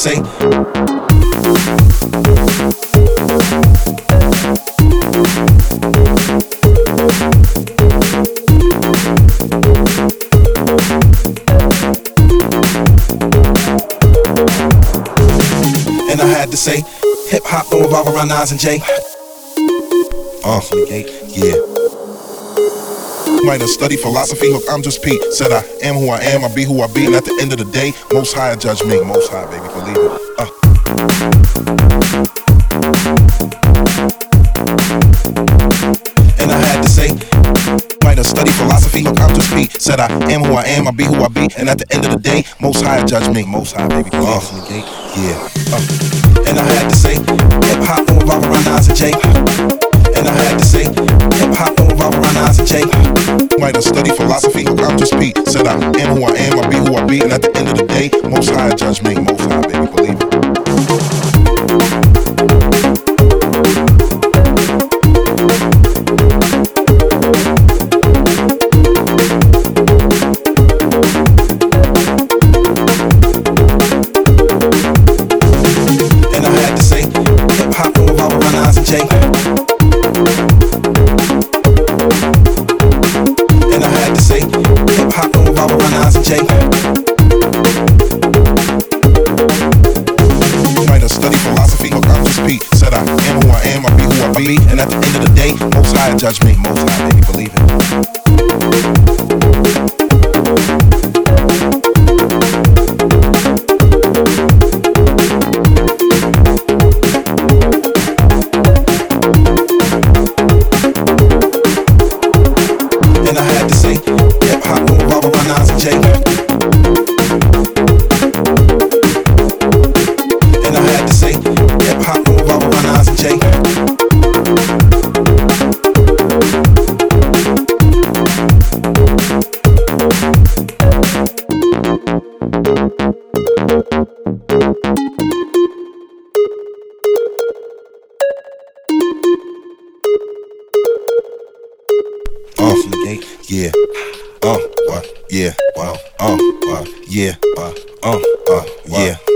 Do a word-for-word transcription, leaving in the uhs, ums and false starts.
say. And I had to say, hip hop don't revolve around Nas and Jay. Uh, yeah. Might have studied philosophy, look, I'm just Pete. Said I am who I am, I be who I be. And at the end of the day, Most High judge me. Most High, baby, believe it. Uh. And I had to say, might have studied philosophy, look, I'm just Pete. Said I am who I am, I be who I be. And at the end of the day, Most High judge me. Most High, baby, believe uh. it. Yeah. Uh. And I had to say, hip hop don't revolve around Nas and Jay. And I had to say, hip hop don't revolve around Nas and Jay. Might have studied philosophy, look, I'm just Pete. Said I am who I am, I be who I be. And at the end of the day, Most High judge me. Most High, baby, believe it. And I had to say, hip hop don't revolve around Nas and Jay. And I had to say, hip hop don't revolve around Nas and Jay. Might have studied philosophy, look, I'm just Pete. Said I am who I am, I be who I be. And at the end of the day, Most High judge me. Most High, baby, believe it. And I had to say, hip hop don't revolve around Nas and Jay. And I had to say, hip hop don't revolve around Nas and Jay. Uh, yeah, uh, what, yeah, wow, uh, uh, yeah, uh, uh, uh, yeah.